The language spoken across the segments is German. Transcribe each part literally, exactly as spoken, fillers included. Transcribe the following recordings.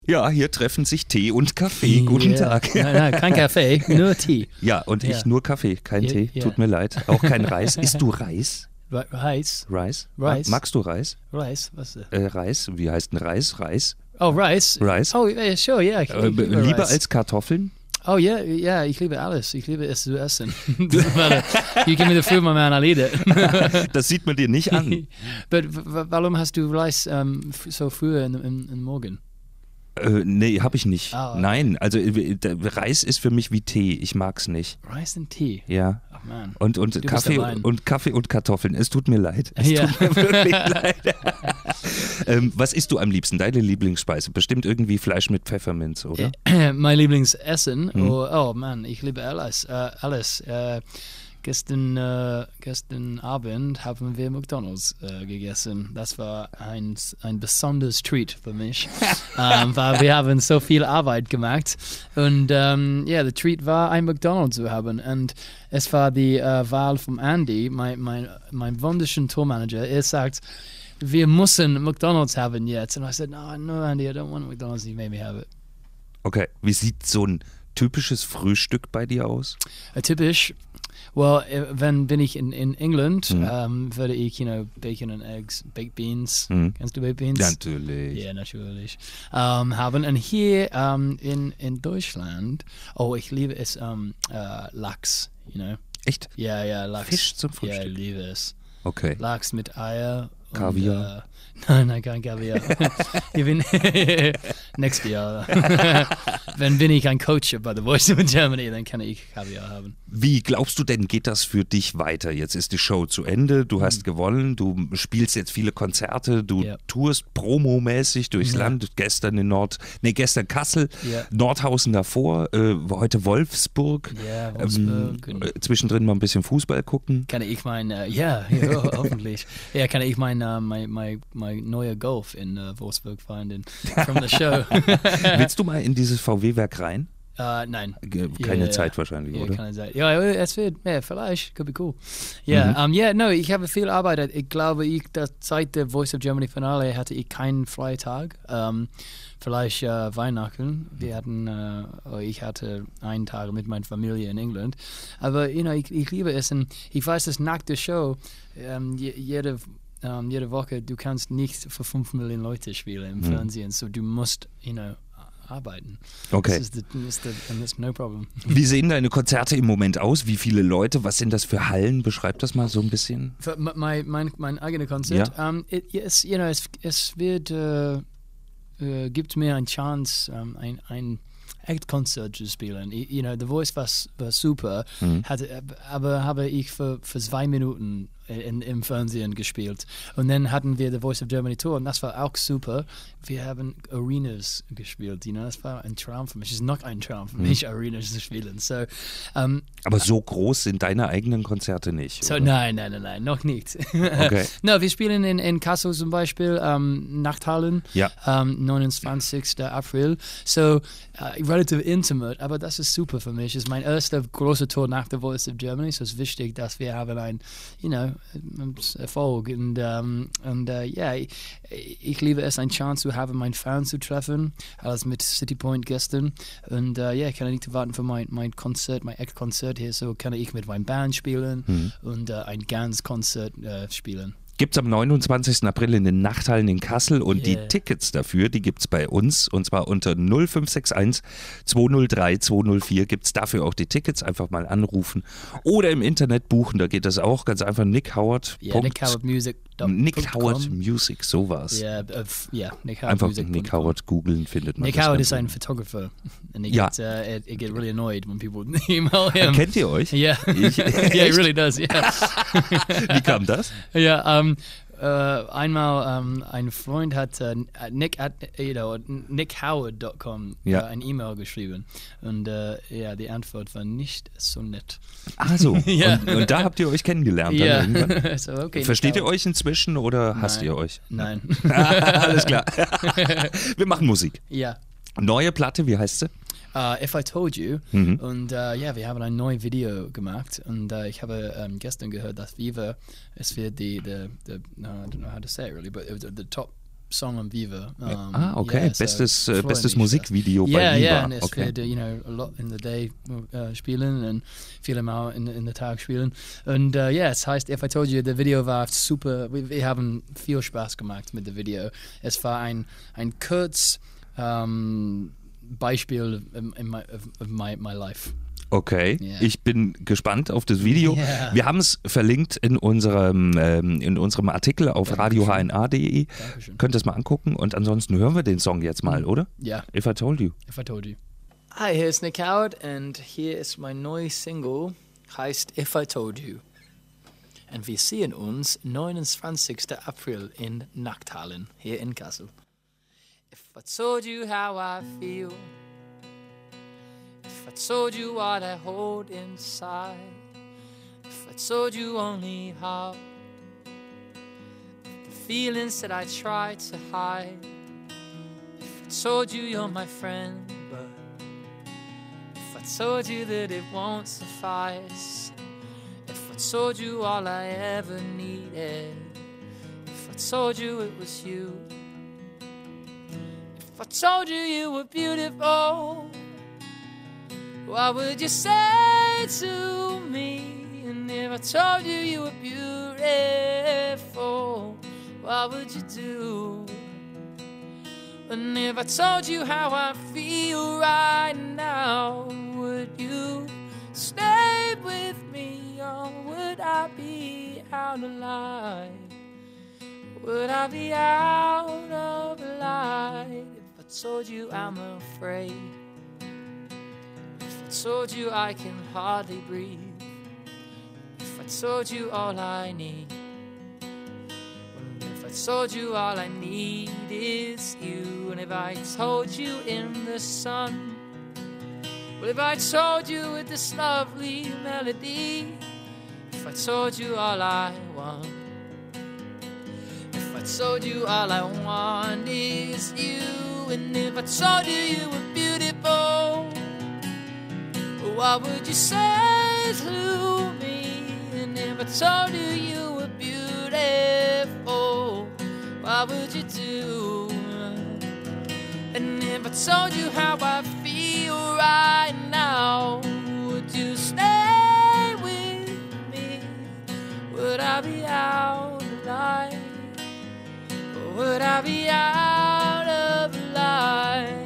Ja, hier treffen sich Tee und Kaffee. Guten yeah. Tag. Nein, nein, kein Kaffee, nur Tee. Ja, und Ja. ich nur Kaffee, kein Ja, Tee. ja. Tut mir leid. Auch kein Reis. Isst du Reis? Reis? Reis? Reis. Ma- Magst du Reis? Reis, was ist das? Äh, Reis? Wie heißt denn Reis? Reis? Oh, Reis? Reis. Oh, yeah, sure, yeah. Ich, Äh, ich liebe lieber Reis. als Kartoffeln? Oh, ja, yeah, ja, yeah, ich liebe alles. Ich liebe es zu essen. You give me the food, my man, I'll eat it. Das sieht man dir nicht an. But w- w- warum hast du Reis um, f- so früh in, in, in Morgen? Äh, nee, hab ich nicht. Ah, okay. Nein, also äh, der Reis ist für mich wie Tee. Ich mag's nicht. Reis and Tea? Ja. Oh, man. Und, und Du bist Kaffee der Wein. und Kaffee und Kartoffeln. Es tut mir leid. Es Ja. tut mir wirklich leid. ähm, was isst du am liebsten? Deine Lieblingsspeise? Bestimmt irgendwie Fleisch mit Pfefferminz, oder? Mein Lieblingsessen? Mhm. Oh, oh man, ich liebe alles. Äh, alles. Äh, gestern, äh, gestern Abend haben wir McDonald's äh, gegessen. Das war ein, ein besonderes Treat für mich, ähm, weil wir haben so viel Arbeit gemacht. Und ja, um, yeah, der Treat war, ein McDonald's zu haben. Und es war die äh, Wahl von Andy, mein, mein, mein wunderschöner Tourmanager. Er sagt, wir müssen McDonald's haben jetzt. And I said, no, no, Andy, I don't want McDonald's. He made me have it. Okay. Wie sieht so ein typisches Frühstück bei dir aus? Uh, typisch. Well, äh, wenn bin ich in, in England, Mhm. ähm, würde ich, you know, Bacon and Eggs, Baked Beans, Mhm. kennst du Baked Beans? Natürlich. Ja, natürlich. Ähm, haben. Und hier ähm, in, in Deutschland, oh, ich liebe es, ähm, äh, Lachs, you know. Echt? Ja, ja, Lachs. Fisch zum Ja, ich Frühstück? liebe es. Okay. Lachs mit Eier. Und, Kaviar? Äh, nein, nein, kein Kaviar. ich bin nächstes Jahr. Wenn bin ich ein Coach bei The Voice of Germany, dann kann ich Kaviar haben. Wie glaubst du denn, geht das für dich weiter? Jetzt ist die Show zu Ende, du hast gewonnen, du spielst jetzt viele Konzerte, du Ja. tourst promomäßig durchs Ja. Land, gestern in Nord, nee, gestern Kassel, Ja. Nordhausen davor, äh, heute Wolfsburg. Ja, Wolfsburg. Ähm, und äh, zwischendrin mal ein bisschen Fußball gucken. kann ich mein, äh, ja, ja, hoffentlich. Ja, kann ich mein, äh, mein, mein, mein neuer Golf in äh, Wolfsburg finden from the show. Willst du mal in dieses V W-Werk rein? Äh, nein. Ge- Keine Ja, Zeit ja. wahrscheinlich, Ja, oder? keine Zeit. Ja, es wird, ja, vielleicht, could be cool. Ja, Mhm. ähm, ja, no, ich habe viel Arbeit. Ich glaube, ich, das, seit der Voice of Germany Finale hatte ich keinen freien Tag. Ähm, vielleicht äh, Weihnachten. Wir hatten, äh, oh, ich hatte einen Tag mit meiner Familie in England. Aber, you know, ich, ich liebe es und ich weiß, dass nach der Show ähm, je, jede ähm, jede Woche, du kannst nicht für fünf Millionen Leute spielen im Mhm. Fernsehen, so du musst, you know, arbeiten. Okay. Das ist, the, das ist the, and that's no problem. Wie sehen deine Konzerte im Moment aus? Wie viele Leute? Was sind das für Hallen? Beschreib das mal so ein bisschen. Für mein, mein, mein eigenes Konzert, Ja. um, it, yes, you know, es, es wird, äh, äh, gibt mir eine Chance, um, ein, ein Act-Konzert zu spielen. I, you know, The Voice war, war super, Mhm. hatte, aber habe ich für, für zwei Minuten in, im Fernsehen gespielt. Und dann hatten wir The Voice of Germany Tour und das war auch super. Wir haben Arenas gespielt, you know, das war ein Traum für mich. Es ist noch ein Traum für mich, Arenas zu spielen. So, um, Aber so groß sind deine eigenen Konzerte nicht. So, oder? nein, nein, nein, nein, noch nicht. Okay. No, wir spielen in, in Kassel zum Beispiel, ähm, Nachthallen, Ja. ähm, neunundzwanzigsten April. So, äh, relativ intimate, aber das ist super für mich. Es ist mein erster großer Tour nach The Voice of Germany, so es ist wichtig, dass wir haben ein, you know, Erfolg. Und, ähm, und äh, ja, ich, ich liebe es, eine Chance zu haben, meinen Fans zu treffen, als mit City Point gestern. Und äh, ja, ich kann nicht warten für mein, mein Konzert, mein Act-Konzert hier, so kann ich mit meinem Band spielen Mhm. und äh, ein ganz Konzert äh, spielen. Gibt es am neunundzwanzigsten April in den Nachthallen in Kassel und Yeah. die Tickets dafür, die gibt es bei uns und zwar unter null fünf sechs eins zwei null drei zwei null vier gibt es dafür auch die Tickets, einfach mal anrufen oder im Internet buchen, da geht das auch ganz einfach Nick Howard. Ja, Nick Howard Music. Nick Howard Music, so war's. Ja, äh, ja, Nick Howard Einfach Music. Nick Howard googeln, findet man Nick das Howard ganz is ein gut. Photographer, and he Ja. gets, uh, it, it get really annoyed when people email him. Kennt ihr euch? Yeah, Ich- yeah, he Echt? really does. Yeah, Wie kam das? ja. Um, äh, einmal um, ein Freund hat uh, Nick at you know nick howard dot com Ja. uh, ein E-Mail geschrieben und uh, ja, die Antwort war nicht so nett. Also, Ja. und, und da habt ihr euch kennengelernt dann Ja, irgendwann? so okay. Versteht Nick ihr euch inzwischen oder hasst Nein. ihr euch? Nein. Alles klar. Wir machen Musik. Ja. Neue Platte, wie heißt sie? Uh, If I Told You. Mhm. Und uh, ja, wir haben ein neues Video gemacht und uh, ich habe um, gestern gehört, dass Viva, es wird die, the, the, no, I don't know how to say it really, but it was the top song on Viva. Um, ah, okay. Yeah, so bestes äh, freue bestes mich Musikvideo sehr. bei Yeah, Viva. yeah, and it's okay. wir, you know, a lot in the day uh, spielen und viele Mal in, in der Tag spielen. Und ja, uh, yeah, es heißt If I Told You, der Video war super, wir, wir haben viel Spaß gemacht mit dem Video. Es war ein, ein kurz um, Beispiel in, in my, of, of my, my life. Okay, Yeah. ich bin gespannt auf das Video. Yeah. Wir haben es verlinkt in unserem, ähm, in unserem Artikel auf Dankeschön. radio h n a punkt d e. Dankeschön. Könnt ihr es mal angucken und ansonsten hören wir den Song jetzt mal, oder? Ja. If I Told You. If I Told You. Hi, hier ist Nick Howard und hier ist mein neues Single, heißt If I Told You. Und wir sehen uns neunundzwanzigsten April in Nachthallen, hier in Kassel. If I told you how I feel, if I told you what I hold inside, if I told you only how the feelings that I try to hide, if I told you you're my friend, but if I told you that it won't suffice, if I told you all I ever needed, if I told you it was you, if I told you you were beautiful, what would you say to me? And if I told you you were beautiful, what would you do? And if I told you how I feel right now, would you stay with me, or would I be out of line? Would I be out of line if I told you I'm afraid? If I told you I can hardly breathe? If I told you all I need? If I told you all I need is you? And if I told you in the sun? Well, if I told you with this lovely melody? If I told you all I want? If I told you all I want is you? And if I told you you were beautiful, what would you say to me? And if I told you you were beautiful, what would you do? And if I told you how I feel right now, would you stay with me? Would I be out of line? Or would I be out of line?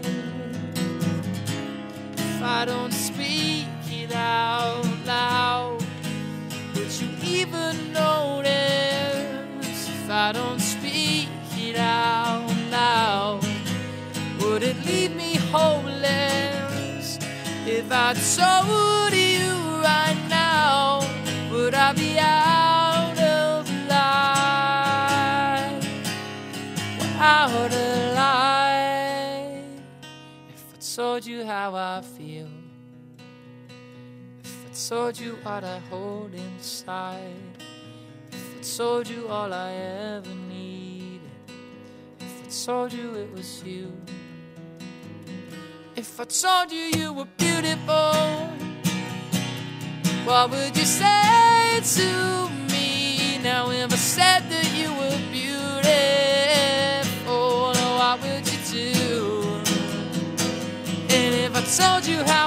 If I don't speak it out loud, would you even notice? If I don't speak it out loud, would it leave me hopeless? If I told you right now, would I be out of line? Out of line. If I told you how I feel, if I told you what I hold inside, if I told you all I ever needed, if I told you it was you, if I told you you were beautiful, what would you say to me? Now if I said that you were beautiful, what would you do? And if I told you how